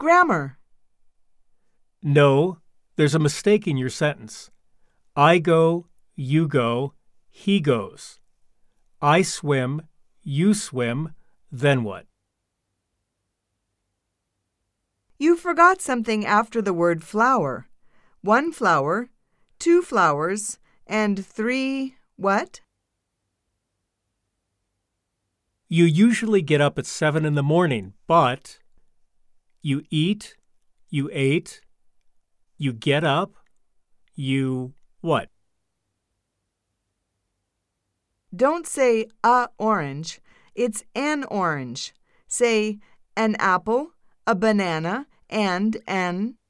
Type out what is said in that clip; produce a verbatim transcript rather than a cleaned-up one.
grammar. No, there's a mistake in your sentence. I go, you go, he goes. I swim, you swim, then what? You forgot something after the word flower. One flower, two flowers, and three what? You usually get up at seven in the morning, but you eat, you ate, you get up, you what? Don't say a orange. It's an orange. Say an apple, a banana, and an